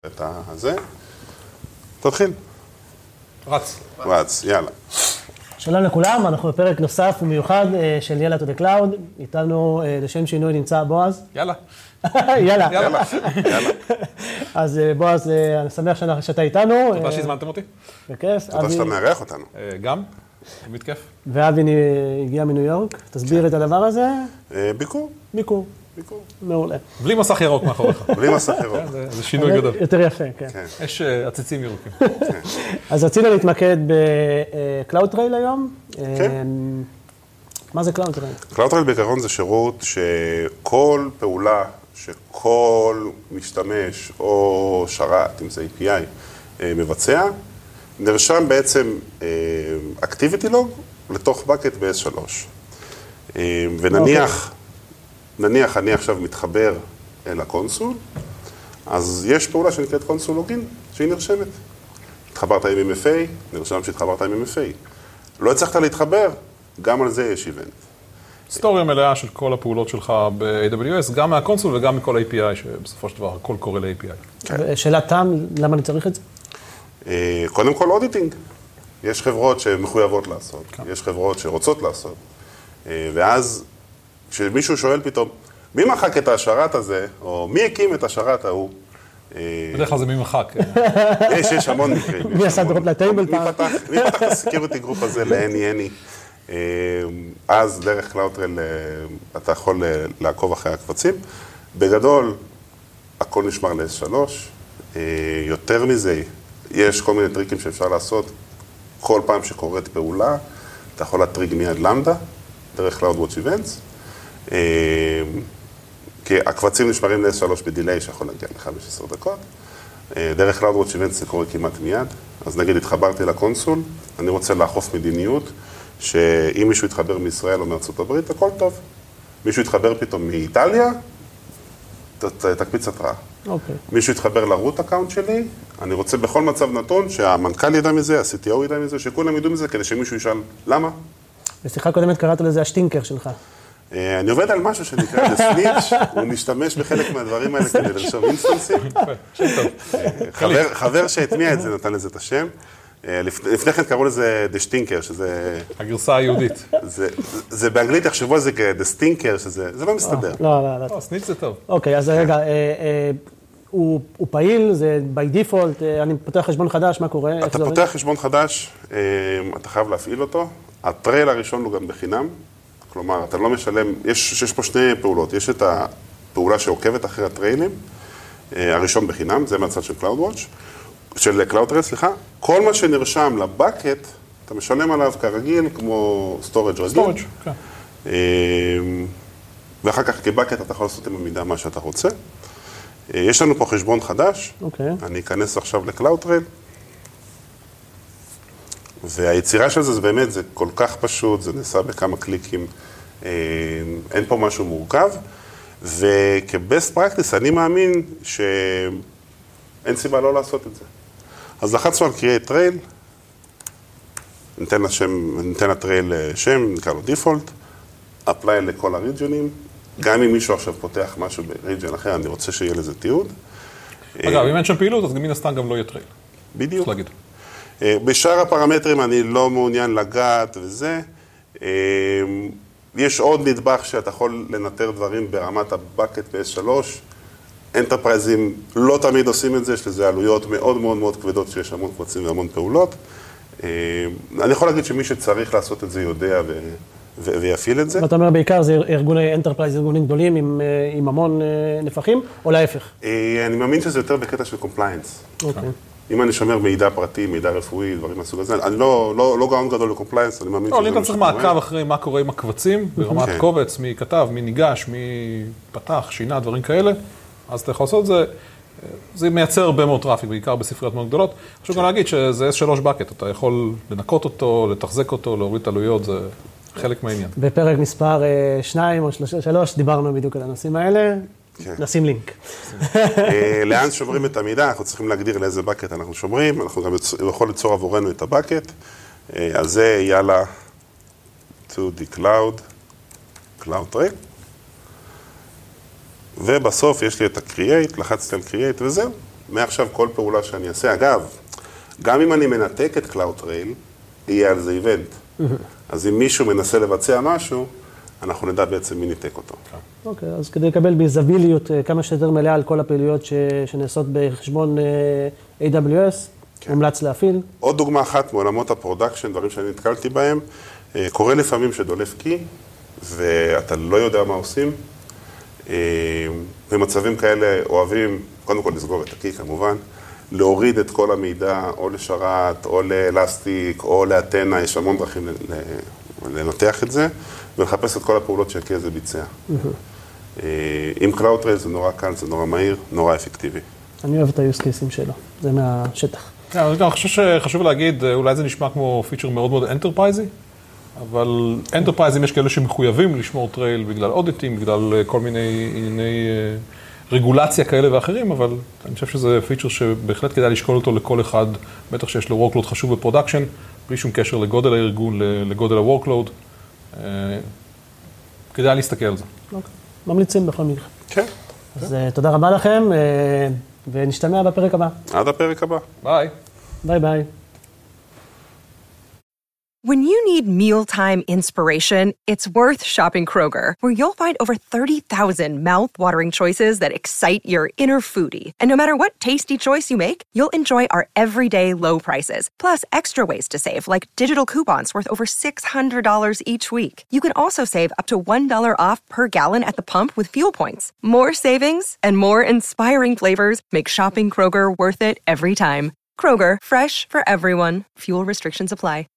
את הזה. תתחיל. רץ, יאללה. שלום לכולם, אנחנו בפרק נוסף ומיוחד של יאללה to the cloud. איתנו לשם שינוי נמצא בועז. יאללה. יאללה. אז בועז, אני שמח שאתה איתנו. תודה שהזמנתם אותי. בכיף. תודה שאתה מארח אותנו. גם, תמיד כיף. ואבי הגיע מניו יורק. תסביר את הדבר הזה. ביקור. מעולה. בלי מסך ירוק מאחוריך. בלי מסך ירוק. זה שינוי גדול. יותר יפה, כן. יש עציצים ירוקים. אז רצינו להתמקד ב-CloudTrail היום. כן. מה זה CloudTrail? CloudTrail בעיקרון זה שירות שכל פעולה שכל משתמש או שרת, אם זה API, מבצע, נרשם בעצם Activity Log לתוך bucket ב-S3. ונניח, אני עכשיו מתחבר אל הקונסול, אז יש פעולה שנקראת קונסול לוגין, שהיא נרשמת. התחברת עם MFA, נרשם שהתחברת עם MFA. לא הצלחת להתחבר, גם על זה יש איבנט. היסטוריה מלאה של כל הפעולות שלך ב-AWS, גם מהקונסול וגם מכל API, שבסופו של דבר הכל קורה ל-API. שאלת תם, למה אני צריך את זה? קודם כל אודיטינג. יש חברות שמחויבות לעשות, יש חברות שרוצות לעשות. ואז כשמישהו שואל פתאום, מי מחק את השרת הזה, או מי הקים את השרת ההוא? בדרך כלל זה מי מחק. יש המון מקרים. מי עשה דרופ לטייבל פעם? מי פתח את הסקיוריטי גרופ הזה ל-any. אז דרך CloudTrail אתה יכול לעקוב אחרי הקבצים. בגדול, הכל נשמר ל-S3. יותר מזה, יש כל מיני טריקים שאפשר לעשות. כל פעם שקורית פעולה, אתה יכול להטריג מיד למדה, דרך CloudWatch Events. כי הקבצים נשמרים ל-S3 בדיליי שיכול להגיע ל-15 דקות. דרך CloudWatch Events זה קורה כמעט מיד. אז נגיד, התחברתי לקונסול, אני רוצה לאכוף מדיניות, שאם מישהו יתחבר מישראל או מארצות הברית, הכל טוב. מישהו יתחבר פתאום מאיטליה, תקפיץ התראה. אוקיי. מישהו יתחבר לרוט אקאונט שלי, אני רוצה בכל מצב נתון שהמנכ"ל ידע מזה, ה-CTO ידע מזה, שכולם ידעו מזה, כדי שמישהו ישאל, למה? בשיחה קודמת קראת לזה השטינקר שלך. אני עובד על משהו שנקרא לסניץ', הוא משתמש בחלק מהדברים האלה כדי לרשום אינסטנסים. חבר שהטמיע את זה נתן לזה את השם. לפני כן קראו לזה The Stinker, שזה... הגרסה היהודית. זה באנגלית יחשבו על זה כ-The Stinker, שזה לא מסתדר. לא. סניץ' זה טוב. אוקיי, אז רגע, הוא פעיל, זה by default, אני פותח חשבון חדש, מה קורה? אתה פותח חשבון חדש, אתה חייב להפעיל אותו. הטרייל הראשון הוא גם בחינם. כלומר, אתה לא משלם, יש פה שני פעולות. יש את הפעולה שעוקבת אחרי הטריילים, הראשון בחינם, זה מהצד של של CloudTrail, סליחה. כל מה שנרשם לבקט, אתה משלם עליו כרגיל, כמו storage רגיל. כן. ואחר כך כבקט אתה יכול לעשות עם המידע מה שאתה רוצה. יש לנו פה חשבון חדש. אוקיי. אני אכנס עכשיו ל-CloudTrail. והיצירה של זה באמת, זה כל כך פשוט, זה נעשה בכמה קליקים, אין פה משהו מורכב, וכ-best practice אני מאמין שאין סיבה לא לעשות את זה. אז לחצנו על create trail, ניתן לטרייל שם, נקרא לו default, apply לכל הריג'ונים, גם אם מישהו עכשיו פותח משהו בריג'ן אחר, אני רוצה שיהיה לזה תיעוד. אגב, אם אין שם פעילות, אז מן הסתם גם לא יהיה טרייל. בדיוק. צריך להגיד. בשאר הפרמטרים אני לא מעוניין לגעת וזה. יש עוד נדבך שאתה יכול לנטר דברים ברמת הבקט ב-S3. אנטרפרייזים לא תמיד עושים את זה, יש לזה עלויות מאוד מאוד מאוד כבדות שיש המון קבצים והמון פעולות. אני יכול להגיד שמי שצריך לעשות את זה יודע ויפעיל את זה. ואתה אומר בעיקר זה ארגוני אנטרפרייז, ארגונים גדולים עם המון נפחים, או להפך? אני מאמין שזה יותר בקטע של קומפליינס. אוקיי. אם אני שומר מידע פרטי, מידע רפואי, דברים מהסוג הזה, אני לא גאון גדול לקומפליינס, אני מאמין שזה... לא, אם אתה צריך מעקב אחרי מה קורה עם הקבצים, ברמת קובץ, מי כתב, מי ניגש, מי פתח, שינה, דברים כאלה, אז אתה יכול לעשות את זה. זה מייצר הרבה מאוד טראפיק, בעיקר בספריות מאוד גדולות. חשוב גם להגיד שזה S3 בקט, אתה יכול לנקות אותו, לתחזק אותו, להוריד עלויות, זה חלק מהעניין. בפרק מספר 2 או 3 דיברנו בדיוק על הנושאים האלה. נשים לינק. לאן שומרים את המידע, אנחנו צריכים להגדיר לאיזה בקט אנחנו שומרים, אנחנו גם יכול ליצור עבורנו את הבקט, אז זה יאללה to the CloudTrail, ובסוף יש לי את ה-Create, לחצתי על Create וזהו. מעכשיו כל פעולה שאני אעשה, אגב, גם אם אני מנתק את CloudTrail, יהיה על זה איבנט. אז אם מישהו מנסה לבצע משהו, אנחנו נדע בעצם מי ניתק אותו. אוקיי, אז כדי לקבל ביזביליות כמה שיותר מלאה על כל הפעילויות שנעשות בחשבון AWS, מומלץ להפעיל. עוד דוגמה אחת מעולמות הפרודקשן, דברים שאני נתקלתי בהם, קורה לפעמים שדולף קי, ואתה לא יודע מה עושים. במצבים כאלה אוהבים, קודם כל לסגור את הקי כמובן, להוריד את כל המידע או לשרת, או לאלסטיק, או לאתנה, יש המון דרכים לנתח את זה, ולחפש את כל הפעולות שהקי הזה ביצע. עם CloudTrail זה נורא קל, זה נורא מהיר, נורא אפקטיבי. אני אוהב את ה-use cases שלו, זה מהשטח. אני חושב שחשוב להגיד, אולי זה נשמע כמו פיצ'ר מאוד מאוד אנטרפרייזי, אבל אנטרפרייזים יש כאלה שמחויבים לשמור טרייל בגלל אודיטים, בגלל כל מיני רגולציה כאלה ואחרים, אבל אני חושב שזה פיצ'ר שבהחלט כדאי לשקול אותו לכל אחד, בטח שיש לו workload חשוב בפרודקשן, בלי שום קשר לגודל הארגון, לגודל ה-workload. כדאי להסתכל על זה. אוקיי, ממליצים בכל מקרה. כן. אז תודה רבה לכם, ונשתמע בפרק הבא. עד הפרק הבא. ביי. ביי ביי. When you need mealtime inspiration, it's worth shopping Kroger, where you'll find over 30,000 mouth-watering choices that excite your inner foodie. And no matter what tasty choice you make, you'll enjoy our everyday low prices, plus extra ways to save, like digital coupons worth over $600 each week. You can also save up to $1 off per gallon at the pump with fuel points. More savings and more inspiring flavors make shopping Kroger worth it every time. Kroger, fresh for everyone. Fuel restrictions apply.